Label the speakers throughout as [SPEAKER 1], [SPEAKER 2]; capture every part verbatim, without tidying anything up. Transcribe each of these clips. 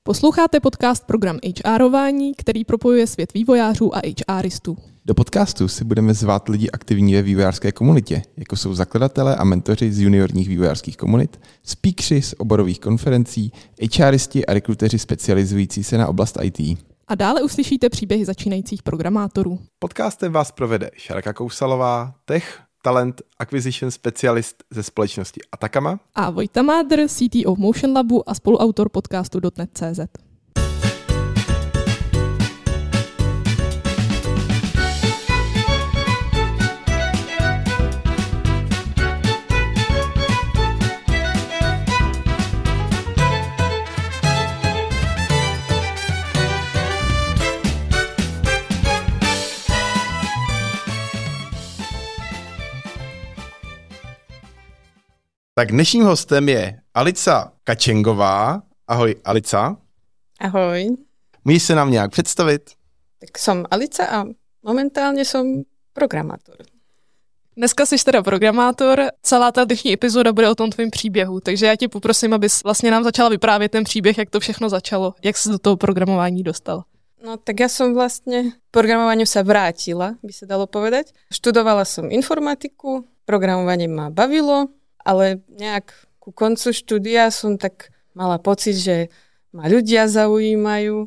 [SPEAKER 1] Posloucháte podcast Program HRování, který propojuje svět vývojářů a HRistů.
[SPEAKER 2] Do podcastu si budeme zvát lidi aktivní ve vývojářské komunitě, jako jsou zakladatelé a mentoři z juniorních vývojářských komunit, speakeři z oborových konferencí, HRisti a rekruteři specializující se na oblast í té.
[SPEAKER 1] A dále uslyšíte příběhy začínajících programátorů.
[SPEAKER 2] Podcastem vás provede Šárka Kousalová, tech, talent, acquisition specialist ze společnosti Atacama
[SPEAKER 1] A Vojta Mádr, C T O Motion Labu a spoluautor podcastu dot net tečka cé zet.
[SPEAKER 2] Tak dnešním hostem je Alica Kačengová. Ahoj, Alica.
[SPEAKER 3] Ahoj.
[SPEAKER 2] Můžeš se nám nějak představit?
[SPEAKER 3] Tak som Alica a momentálně som programátor.
[SPEAKER 1] Dneska jsi teda programátor, celá ta dnešní epizoda bude o tom tvým příběhu, takže já tě poprosím, abys vlastně nám začala vyprávět ten příběh, jak to všechno začalo, jak jsi do toho programování dostal.
[SPEAKER 3] No tak ja som vlastne k programovaniu sa vrátila, by sa dalo povedať. Študovala som informatiku, programovanie ma bavilo, ale nejak ku koncu štúdia som tak mala pocit, že ma ľudia zaujímajú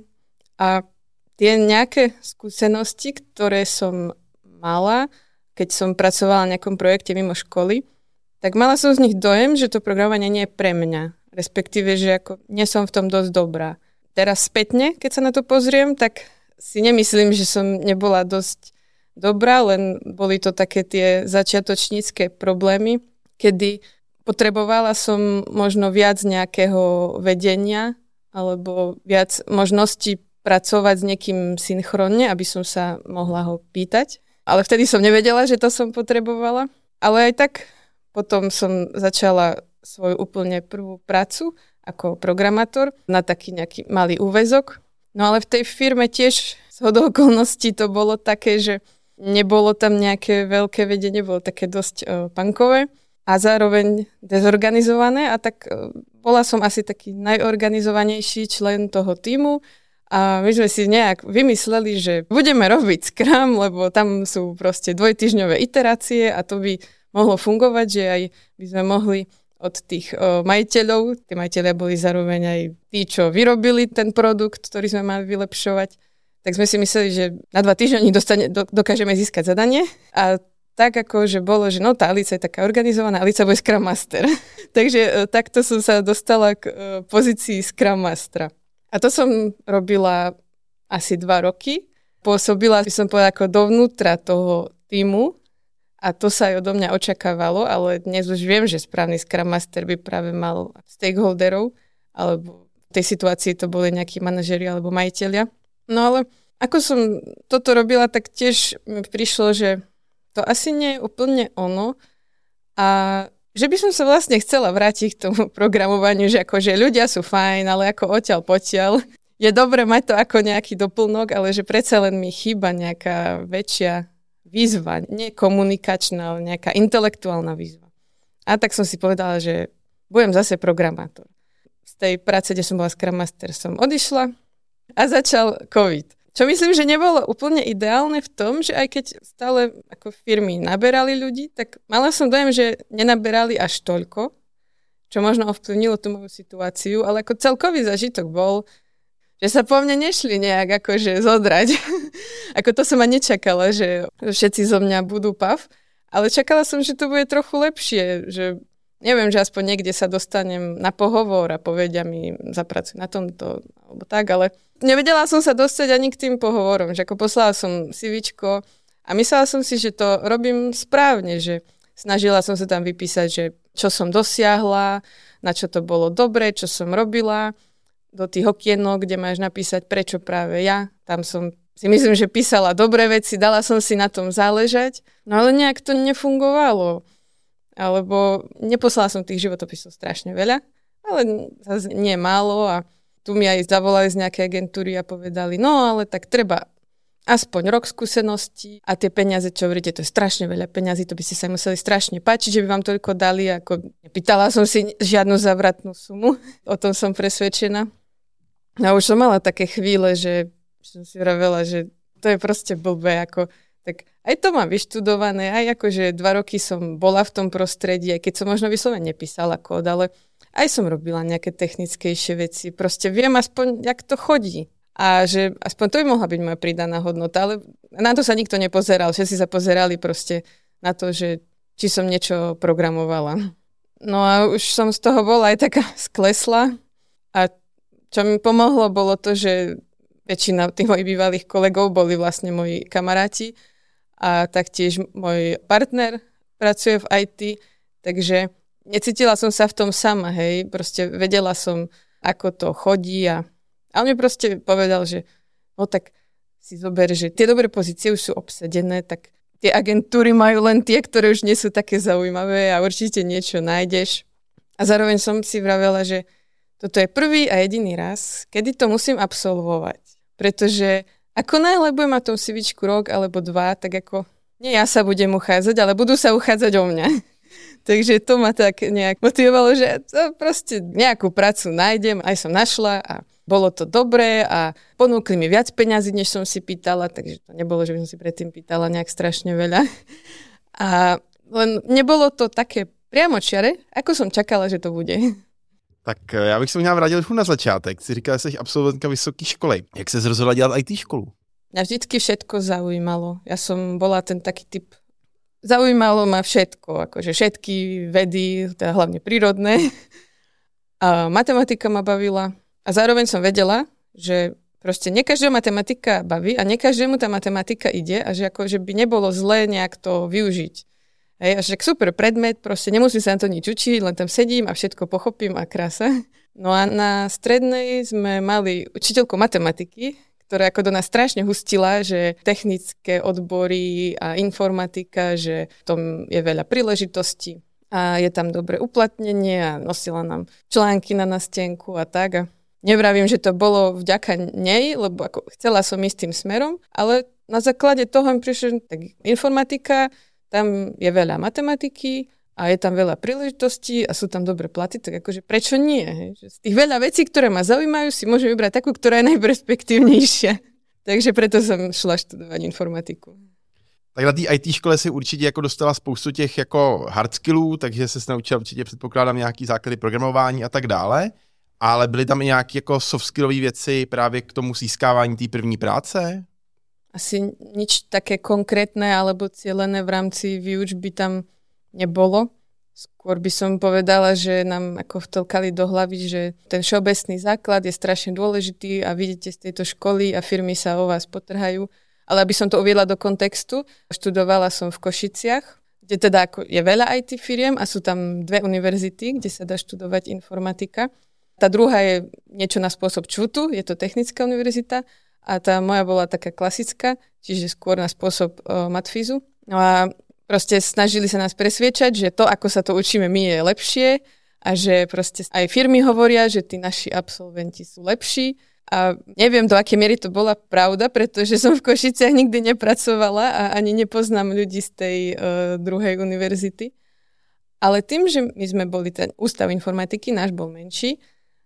[SPEAKER 3] a tie nejaké skúsenosti, ktoré som mala, keď som pracovala na nejakom projekte mimo školy, tak mala som z nich dojem, že to programovanie nie je pre mňa, respektíve, že ako nie som v tom dosť dobrá. Teraz spätne, keď sa na to pozriem, tak si nemyslím, že som nebola dosť dobrá, len boli to také tie začiatočnícke problémy, kedy potrebovala som možno viac nejakého vedenia alebo viac možností pracovať s niekým synchronne, aby som sa mohla ho pýtať. Ale vtedy som nevedela, že to som potrebovala. Ale aj tak potom som začala svoju úplne prvú prácu ako programátor na taký nejaký malý úväzok. No ale v tej firme tiež zhodou okolností to bolo také, že nebolo tam nejaké veľké vedenie, bolo také dosť uh, punkové a zároveň dezorganizované a tak uh, bola som asi taký najorganizovanejší člen toho tímu a my sme si nejak vymysleli, že budeme robiť Scrum, lebo tam sú proste dvojtýždňové iterácie a to by mohlo fungovať, že aj by sme mohli od tých o, majiteľov. Tí majiteľia boli zároveň aj tí, čo vyrobili ten produkt, ktorý sme mali vylepšovať. Tak sme si mysleli, že na dva týždne dostane, do, dokážeme získať zadanie. A tak ako, že bolo, že no tá Alica je taká organizovaná, Alica bude Scrum Master. Takže o, takto som sa dostala k o, pozícii Scrum Mastera. A to som robila asi dva roky. Pôsobila, by som povedala, ako dovnútra toho týmu. A to sa aj odo mňa očakávalo, ale dnes už viem, že správny Scrum Master by práve mal stakeholderov, alebo v tej situácii to boli nejakí manažeri alebo majiteľia. No ale ako som toto robila, tak tiež mi prišlo, že to asi nie je úplne ono a že by som sa vlastne chcela vrátiť k tomu programovaniu, že akože ľudia sú fajn, ale ako odtiaľ potiaľ. Je dobre mať to ako nejaký doplnok, ale že predsa len mi chýba nejaká väčšia výzva, nie komunikačná, ale nejaká intelektuálna výzva. A tak som si povedala, že budem zase programátor. Z tej práce, kde som bola Scrum Master, som odišla a začal COVID. Čo myslím, že nebolo úplne ideálne v tom, že aj keď stále ako firmy naberali ľudí, tak mala som dojem, že nenaberali až toľko, čo možno ovplyvnilo tú moju situáciu, ale ako celkový zažitok bol, že sa po mne nešli nejak akože zodrať. Ako to som ani nečakala, že všetci zo mňa budú pav, ale čakala som, že to bude trochu lepšie, že neviem, že aspoň niekde sa dostanem na pohovor a povedia mi, zapracuj na tomto, alebo tak, ale nevedela som sa dostať ani k tým pohovorom, že ako poslala som CVčko a myslela som si, že to robím správne, že snažila som sa tam vypísať, že čo som dosiahla, na čo to bolo dobre, čo som robila, do tých okienok, kde máš napísať, prečo práve ja. Tam som si myslím, že písala dobré veci, dala som si na tom záležať, no ale nejak to nefungovalo. Alebo neposlala som tých životopisov strašne veľa, ale zase nie málo a tu mi aj zavolali z nejakej agentúry a povedali, no ale tak treba aspoň rok skúseností a tie peniaze, čo hovoríte, to je strašne veľa peniazí, to by ste sa museli strašne páčiť, že by vám toľko dali, ako nepýtala som si žiadnu zavratnú sumu, o tom som presvedčená. A už som mala také chvíle, že som si vravela, že to je proste blbé, ako tak aj to mám vyštudované, aj akože dva roky som bola v tom prostredí, aj keď som možno vyslovene nepísala kód, ale aj som robila nejaké technickejšie veci. Proste viem aspoň, jak to chodí. A že aspoň to by mohla byť moja pridaná hodnota, ale na to sa nikto nepozeral. Všetci sa pozerali proste na to, že či som niečo programovala. No a už som z toho bola aj taká sklesla. A čo mi pomohlo, bolo to, že väčšina tých mojich bývalých kolegov boli vlastne moji kamaráti. A taktiež môj partner pracuje v í té, takže necítila som sa v tom sama, hej, proste vedela som, ako to chodí a, a on mi proste povedal, že no tak si zober, že tie dobré pozície už sú obsadené, tak tie agentúry majú len tie, ktoré už nie sú také zaujímavé a určite niečo nájdeš. A zároveň som si vravela, že toto je prvý a jediný raz, kedy to musím absolvovať, pretože ako náhle budem mať tom CVčku rok alebo dva, tak ako nie ja sa budem uchádzať, ale budú sa uchádzať o mňa. Takže to ma tak nejak motivovalo, že to proste nejakú prácu nájdem, aj som našla a bolo to dobré a ponúkli mi viac peňazí, než som si pýtala, takže to nebolo, že by som si predtým pýtala nejak strašne veľa. A len nebolo to také priamočiare, ako som čakala, že to bude.
[SPEAKER 2] Tak já bych se možná vrátil na začátek. Jsi říkala, že jsi absolventka vysoké školy. Jak se rozhodla dělat í té školu?
[SPEAKER 3] Mňa vždycky všetko zaujímalo. Ja som bola ten taký typ, zaujímalo ma všetko, akože všetky vedy, teda hlavne prírodné. A matematika ma bavila. A zároveň som vedela, že proste nie každého matematika baví a nie každému tá matematika ide a že akože by nebolo zlé nejak to využiť. Hej, a však super predmet, proste nemusím sa na to nič učiť, len tam sedím a všetko pochopím a krása. No a na strednej sme mali učiteľku matematiky, ktorá ako do nás strašne hustila, že technické odbory a informatika, že v tom je veľa príležitostí a je tam dobré uplatnenie a nosila nám články na nástenku a tak. A nevravím, že to bolo vďaka nej, lebo ako chcela som ísť tým smerom, ale na základe toho mi prišlo, tak informatika, tam je veľa matematiky a je tam veľa príležitostí a sú tam dobré platy, tak akože prečo nie? Hej? Že z tých veľa vecí, ktoré ma zaujímajú, si môžem vybrať takú, ktorá je najperspektívnejšia. Takže preto som šla študovať informatiku.
[SPEAKER 2] Tak na té í té škole si určitě jako dostala spoustu těch jako hard skillů, takže se naučila určitě, předpokládám, nějaký základy programování a tak dále, ale byly tam i nějaké jako soft skillové věci právě k tomu získávání té první práce?
[SPEAKER 3] Asi nič také konkrétne alebo cielené v rámci výučby tam nebolo. Skôr by som povedala, že nám ako vtlkali do hlavy, že ten všeobecný základ je strašne dôležitý a vidíte z tejto školy a firmy sa o vás potrhajú. Ale aby som to uviedla do kontextu, študovala som v Košiciach, kde teda ako je veľa í té firiem a sú tam dve univerzity, kde sa dá študovať informatika. Tá druhá je niečo na spôsob ČVUTu, je to Technická univerzita, a tá moja bola taká klasická, čiže skôr na spôsob uh, matfízu. No a proste snažili sa nás presviečať, že to, ako sa to učíme my, je lepšie a že proste aj firmy hovoria, že tí naši absolventi sú lepší. A neviem, do akej miery to bola pravda, pretože som v Košiciach nikdy nepracovala a ani nepoznám ľudí z tej uh, druhej univerzity. Ale tým, že my sme boli ten ústav informatiky, náš bol menší,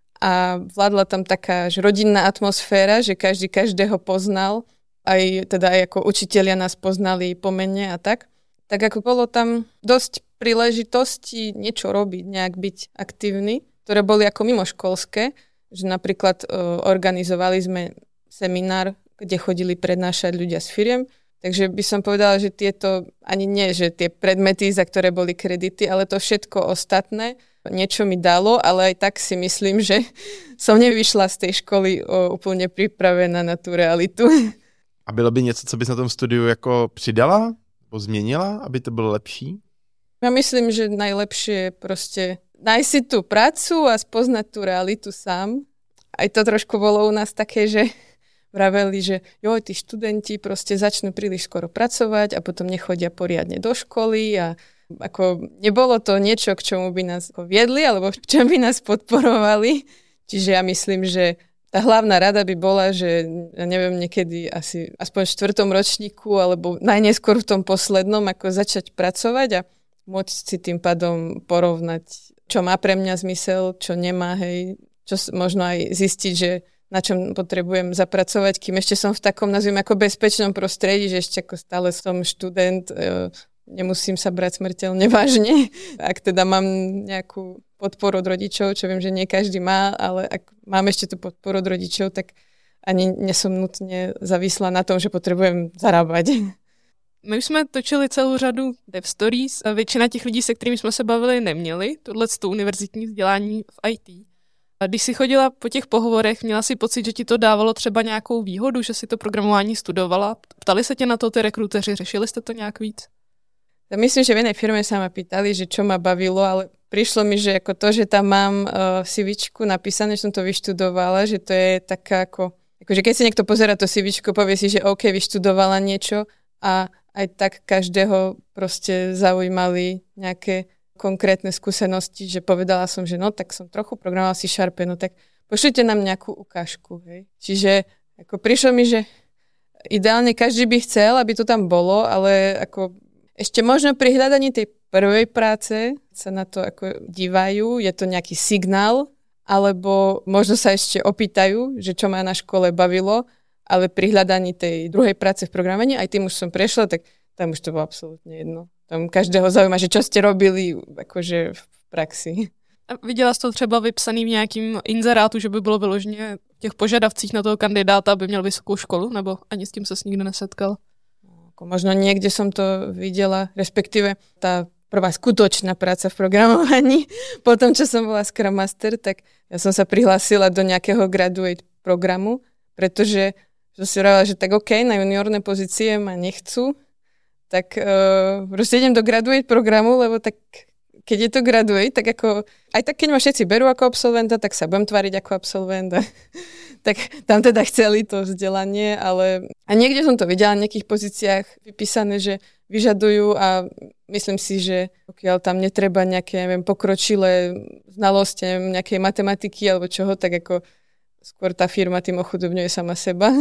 [SPEAKER 3] a vládla tam taká že rodinná atmosféra, že každý každého poznal, aj teda aj ako učitelia nás poznali po mene a tak. Tak ako bolo tam dosť príležitostí niečo robiť, nejak byť aktívny, ktoré boli ako mimoškolské, že napríklad uh, organizovali sme seminár, kde chodili prednášať ľudia z firiem. Takže by som povedala, že tieto, ani nie, že tie predmety, za ktoré boli kredity, ale to všetko ostatné, niečo mi dalo, ale aj tak si myslím, že som nevyšla z tej školy o, úplne pripravená na tú realitu.
[SPEAKER 2] A bylo by něco, co bys na tom studiu jako přidala? Nebo změnila, aby to bylo lepší?
[SPEAKER 3] Ja myslím, že najlepšie je proste nájsť si tú prácu a spoznať tú realitu sám. Aj to trošku bolo u nás také, že vraveli, že joj, tí študenti proste začnú príliš skoro pracovať a potom nechodia poriadne do školy a ako nebolo to niečo, k čomu by nás viedli alebo v čom by nás podporovali. Čiže ja myslím, že tá hlavná rada by bola, že ja neviem, niekedy asi aspoň v štvrtom ročníku alebo najneskôr v tom poslednom, ako začať pracovať a môcť si tým pádom porovnať, čo má pre mňa zmysel, čo nemá, hej, čo možno aj zistiť, že na čom potrebujem zapracovať, kým ešte som v takom, nazviem, ako bezpečnom prostredí, že ešte ako stále som študent, nemusím sa brať smrteľne vážne. Ak teda mám nejakú podporu od rodičov, čo viem, že nie každý má, ale ak mám ešte tú podporu od rodičov, tak ani nesom nutne závislá na tom, že potrebujem zarábať.
[SPEAKER 1] My už jsme točili celou řadu dev stories a většina těch lidí, se kterými jsme se bavili, neměli tohleto univerzitní vzdělání v í té. A když si chodila po těch pohovorech, měla si pocit, že ti to dávalo třeba nějakou výhodu, že si to programování studovala? Ptali se tě na to ty rekruteři, řešili jste to nějak víc?
[SPEAKER 3] Ja myslím, že v jednej firme sa ma pýtali, že čo ma bavilo, ale prišlo mi, že ako to, že tam mám uh, CVčku napísané, že som to vyštudovala, že to je taká ako, akože keď si niekto pozerá to CVčko, povie si, že OK, vyštudovala niečo a aj tak každého proste zaujímali nejaké konkrétne skúsenosti, že povedala som, že no tak som trochu programovala C Sharpe, no tak pošlite nám nejakú ukážku. Hej. Čiže ako prišlo mi, že ideálne každý by chcel, aby to tam bolo, ale ako ešte možno pri hľadaní tej prvej práce sa na to ako dívajú, je to nejaký signál, alebo možno sa ešte opýtajú, že čo ma na škole bavilo, ale pri hľadaní tej druhej práce v programovaní, aj tým už som prešla, tak tam už to bolo absolútne jedno. Tam každého zaujíma, že čo ste robili akože v praxi.
[SPEAKER 1] A viděla jsi to třeba vypsaný v nějakým inzerátu, že by bylo vyloženě v těch požadavcích na toho kandidáta, aby měl vysokou školu, nebo ani s tím ses nikdy nesetkal?
[SPEAKER 3] Možno niekde som to videla, respektíve tá prvá skutočná práca v programovaní. Potom, čo som bola Scrum Master, tak ja som sa prihlásila do nejakého graduate programu, pretože som si hovorila, že tak OK, na juniorné pozície ma nechcú, tak uh, proste idem do graduate programu, lebo tak keď je to graduate, tak ako, aj tak keď ma všetci berú ako absolventa, tak sa budem tváriť ako absolvent. Tak tam teda chceli to vzdelanie, ale a niekde som to videla v nejakých pozíciách vypísané, že vyžadujú a myslím si, že pokiaľ tam netreba nejaké, neviem, pokročilé znalosti, nejakej matematiky alebo čoho, tak ako skôr tá firma tým ochudobňuje sama seba.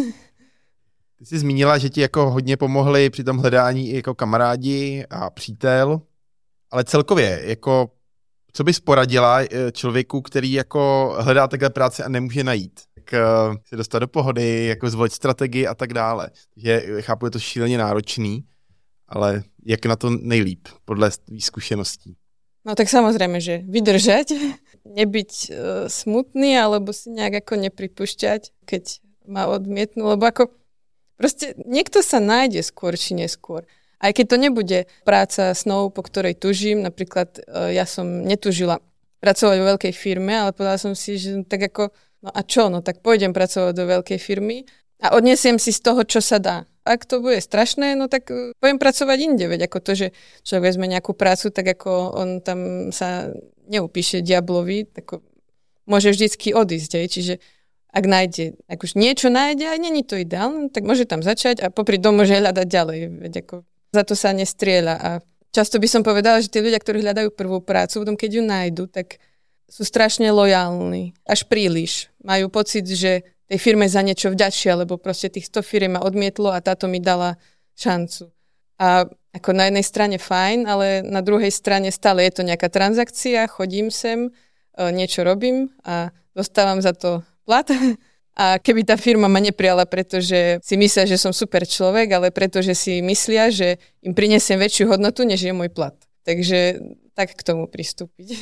[SPEAKER 2] Ty jsi zmínila, že ti jako hodně pomohli při tom hledání i jako kamarádi a přítel, ale celkově, jako co bys poradila člověku, který jako hledá takhle práci a nemůže najít? Tak se dostat do pohody, jako zvolit strategii a tak dále. Takže chápu, je to šíleně náročný, ale jak na to nejlíp, podle tvých zkušeností?
[SPEAKER 3] No tak samozrejme, že vydržať, nebyť uh, smutný, alebo si nejak ako nepripúšťať, keď ma odmietnú, lebo ako proste niekto sa nájde skôr či neskôr. Aj keď to nebude práca snov, po ktorej tužím, napríklad uh, ja som netužila pracovať vo veľkej firme, ale povedala som si, že tak ako, no a čo, no tak pôjdem pracovať do veľkej firmy a odnesiem si z toho, čo sa dá. Ak to bude strašné, no tak budem pracovať inde, veď ako to, že človek vezme nejakú prácu, tak ako on tam sa neupíše diablovi, tak môže vždycky odísť, hej. Čiže ak nájde, ak už niečo nájde a není to ideálne, tak môže tam začať a popri tom môže hľadať ďalej, veď ako za to sa nestrieľa. A často by som povedala, že tí ľudia, ktorí hľadajú prvú prácu, potom keď ju nájdu, tak sú strašne lojálni, až príliš. Majú pocit, že tej firme za niečo vďačia, lebo proste tých sto firiem ma odmietlo a táto mi dala šancu. A ako na jednej strane fajn, ale na druhej strane stále je to nejaká transakcia, chodím sem, niečo robím a dostávam za to plat. A keby tá firma ma neprijala, pretože si myslia, že som super človek, ale pretože si myslia, že im prinesiem väčšiu hodnotu, než je môj plat. Takže tak k tomu pristúpiť.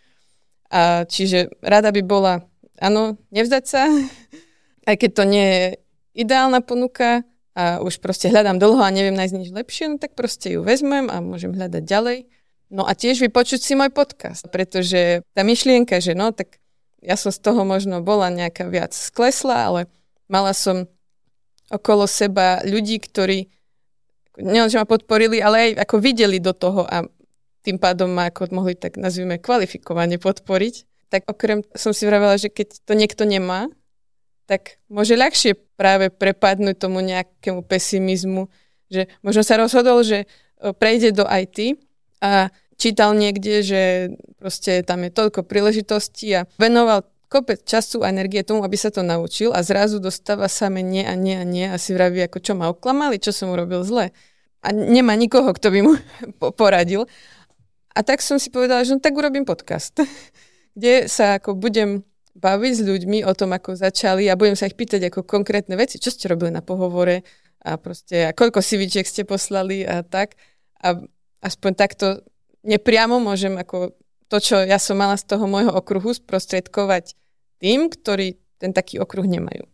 [SPEAKER 3] A čiže rada by bola, áno, nevzdať sa, aj keď to nie je ideálna ponuka a už proste hľadám dlho a neviem nájsť nič lepšie, no tak proste ju vezmem a môžem hľadať ďalej. No a tiež vypočuť si môj podcast, pretože tá myšlienka, že no tak ja som z toho možno bola nejaká viac sklesla, ale mala som okolo seba ľudí, ktorí nielen, že ma podporili, ale aj ako videli do toho a tým pádom ma ako mohli tak nazvime kvalifikovane podporiť. Tak okrem som si vravela, že keď to niekto nemá, tak môže ľahšie práve prepadnúť tomu nejakému pesimizmu, že možno sa rozhodol, že prejde do í té a čítal niekde, že proste tam je toľko príležitostí a venoval kopec času a energie tomu, aby sa to naučil a zrazu dostáva samé nie a nie a nie a si vraví, ako čo ma oklamali, čo som urobil zle. A nemá nikoho, kto by mu poradil. A tak som si povedala, že no tak urobím podcast, kde sa ako budem baviť s ľuďmi o tom, ako začali a budem sa ich pýtať ako konkrétne veci, čo ste robili na pohovore a proste a koľko CVčiek ste poslali a tak. A aspoň takto nepriamo môžem ako to, čo ja som mala z toho môjho okruhu sprostredkovať tým, ktorí ten taký okruh nemajú.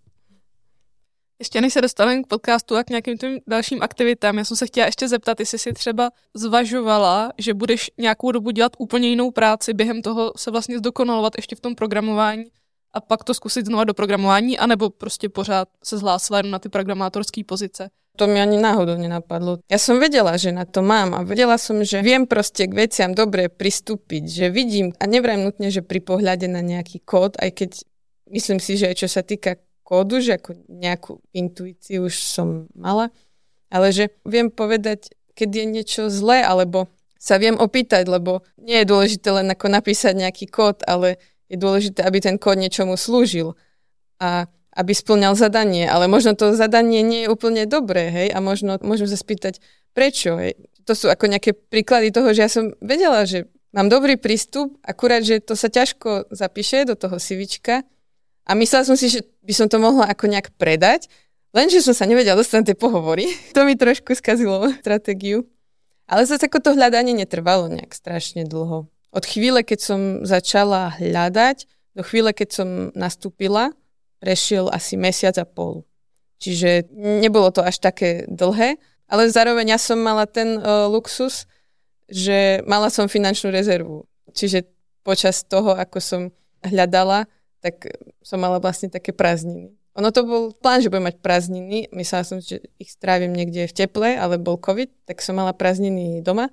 [SPEAKER 1] Ještě než se dostaneme k podcastu a k nějakým tím dalším aktivitám, já jsem se chtěla ještě zeptat, jestli si třeba zvažovala, že budeš nějakou dobu dělat úplně jinou práci, během toho se vlastně zdokonalovat ještě v tom programování a pak to zkusit znova do programování, anebo prostě pořád se zhlásila na ty programátorské pozice.
[SPEAKER 3] To mi ani náhodou nenapadlo. Ja som vedela, že na to mám a vedela som, že viem proste k veciam dobre pristúpiť, že vidím a nevrajím nutne, že pri pohľade na nejaký kód, aj keď myslím si, že čo sa týka kódu, že ako nejakú intuíciu už som mala, ale že viem povedať, keď je niečo zlé, alebo sa viem opýtať, lebo nie je dôležité len ako napísať nejaký kód, ale je dôležité, aby ten kód niečomu slúžil a aby spĺňal zadanie, ale možno to zadanie nie je úplne dobré, hej, a možno môžem sa spýtať, prečo, hej. To sú ako nejaké príklady toho, že ja som vedela, že mám dobrý prístup, akurát, že to sa ťažko zapíše do toho CVčka a myslela som si, že by som to mohla ako nejak predať, lenže som sa nevedela dostať na tie pohovory. To mi trošku skazilo stratégiu. Ale zase ako to hľadanie netrvalo nejak strašne dlho. Od chvíle, keď som začala hľadať, do chvíle, keď som nastúpila, prešiel asi mesiac a pol. Čiže nebolo to až také dlhé, ale zároveň ja som mala ten uh, luxus, že mala som finančnú rezervu. Čiže počas toho, ako som hľadala, tak som mala vlastne také prázdniny. Ono to bol plán, že budem mať prázdniny. Myslela som, že ich strávim niekde v teple, ale bol COVID, tak som mala prázdniny doma.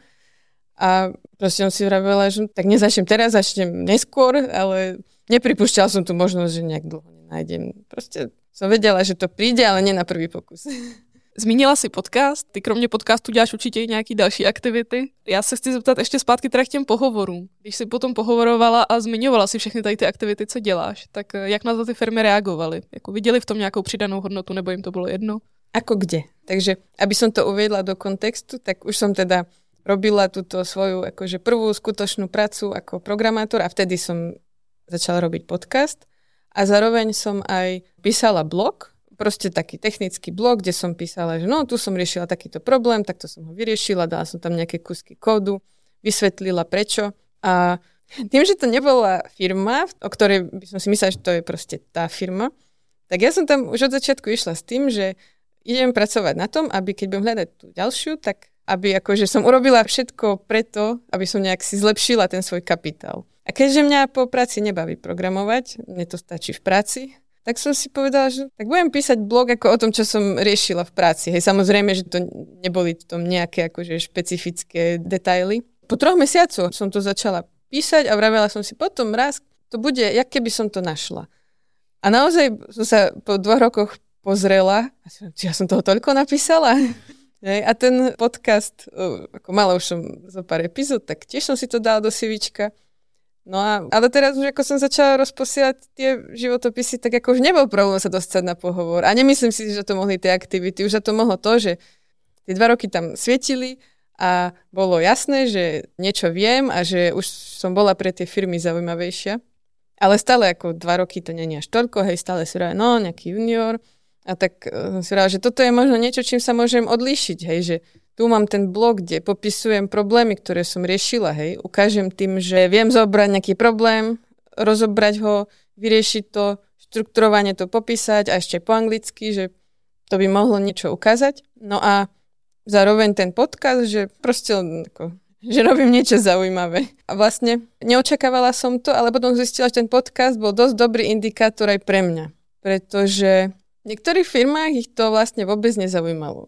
[SPEAKER 3] A proste som si vravela, že tak nezačnem teraz, začnem neskôr, ale nepripúšťala som tu možnosť, že nejak dlho nenájdem. Proste som vedela, že to príde, ale nie na prvý pokus.
[SPEAKER 1] Zmínila si podcast, ty kromě podcastu děláš určitě i nějaký další aktivity. Já se chci zeptat ještě zpátky teda k těm pohovorům. Když jsi potom pohovorovala a zmiňovala si všechny tady ty aktivity, co děláš, tak jak na to ty firmy reagovaly? Jako viděli v tom nějakou přidanou hodnotu, nebo jim to bylo jedno?
[SPEAKER 3] Ako kde? Takže, aby som to uviedla do kontextu, tak už som teda robila túto svoju akože prvú skutočnú prácu ako programátor a vtedy som začala robiť podcast a zároveň som aj písala blog, proste taký technický blog, kde som písala, že no, tu som riešila takýto problém, takto som ho vyriešila, dala som tam nejaké kusky kódu, vysvetlila prečo. A tým, že to nebola firma, o ktorej by som si myslela, že to je proste tá firma, tak ja som tam už od začiatku išla s tým, že idem pracovať na tom, aby keď budem hľadať tú ďalšiu, tak aby akože som urobila všetko preto, aby som nejak si zlepšila ten svoj kapitál. A keďže mňa po práci nebaví programovať, mne to stačí v práci, tak som si povedala, že tak budem písať blog ako o tom, čo som riešila v práci. Hej, samozrejme, že to neboli v tom nejaké akože špecifické detaily. Po troch mesiacoch som to začala písať a vravela som si potom raz, to bude, jak keby som to našla. A naozaj som sa po dvoch rokoch pozrela, či ja som toho toľko napísala. Hej, a ten podcast, ako mala už som zo pár epizód, tak tiež som si to dala do CVčka. No a, ale teraz už ako som začala rozposielať tie životopisy, tak ako už nebol problém sa dostať na pohovor. A nemyslím si, že to mohli tie aktivity. Už za to mohlo to, že tie dva roky tam svietili a bolo jasné, že niečo viem a že už som bola pre tie firmy zaujímavejšia. Ale stále ako dva roky to nie je až toľko, hej, stále si hovorila, no, nejaký junior. A tak som si hovorila, že toto je možno niečo, čím sa môžem odlíšiť, hej, že tu mám ten blog, kde popisujem problémy, ktoré som riešila, hej. Ukážem tým, že viem zobrať nejaký problém, rozobrať ho, vyriešiť to, štruktúrovane to popísať a ešte po anglicky, že to by mohlo niečo ukázať. No a zároveň ten podcast, že proste ako, že robím niečo zaujímavé. A vlastne neočakávala som to, ale potom zistila, že ten podcast bol dosť dobrý indikátor aj pre mňa. Pretože v niektorých firmách ich to vlastne vôbec nezaujímalo.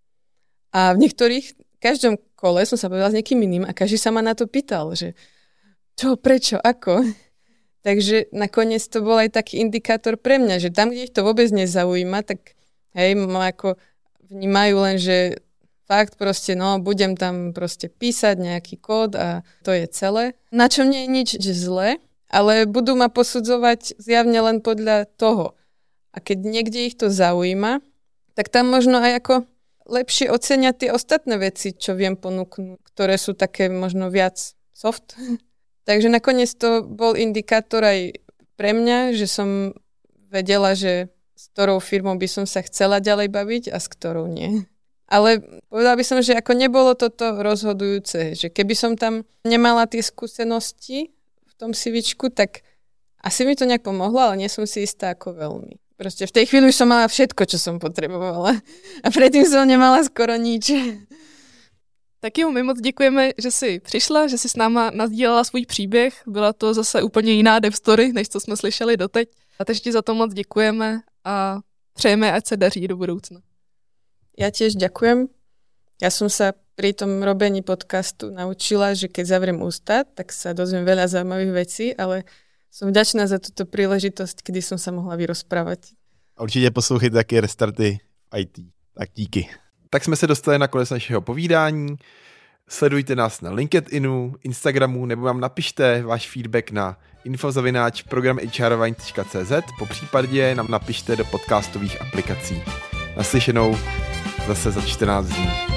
[SPEAKER 3] A v niektorých, v každom kole som sa povedala s niekým iným a každý sa ma na to pýtal, že čo, prečo, ako. Takže nakoniec to bol aj taký indikátor pre mňa, že tam, kde ich to vôbec nezaujíma, tak hej, ma ako vnímajú len, že fakt proste, no, budem tam proste písať nejaký kód a to je celé. Na čom nie je nič zlé, ale budú ma posudzovať zjavne len podľa toho. A keď niekde ich to zaujíma, tak tam možno aj ako lepšie ocenia tie ostatné veci, čo viem ponúknuť, ktoré sú také možno viac soft. Takže nakoniec to bol indikátor aj pre mňa, že som vedela, že s ktorou firmou by som sa chcela ďalej baviť a s ktorou nie. Ale povedala by som, že ako nebolo toto rozhodujúce, že keby som tam nemala tie skúsenosti v tom CVčku, tak asi mi to nejak pomohlo, ale nie som si istá ako veľmi. Proste v tej chvíli už som mala všetko, čo som potrebovala. A predtým som nemala skoro nič.
[SPEAKER 1] Tak jo, my moc děkujeme, že jsi přišla, že jsi s náma nasdílela svůj příběh. Byla to zase úplně jiná dev story, než co jsme slyšeli doteď. A takže ti za to moc děkujeme a přejeme, ať se daří do budoucna.
[SPEAKER 3] Ja tiež ďakujem. Ja som sa pri tom robení podcastu naučila, že keď zavriem ústa, tak sa dozviem veľa zaujímavých vecí, ale som vďačná za túto príležitosť, kedy som sa mohla vyrozprávať.
[SPEAKER 2] Určitě poslouchejte taky Restarty v í té. Tak díky. Tak jsme se dostali na konec našeho povídání. Sledujte nás na LinkedInu, Instagramu, nebo vám napište váš feedback na info zavináč program há er wine tečka cé zet, po případě nám napište do podcastových aplikací. Naslyšenou zase za čtrnáct dní.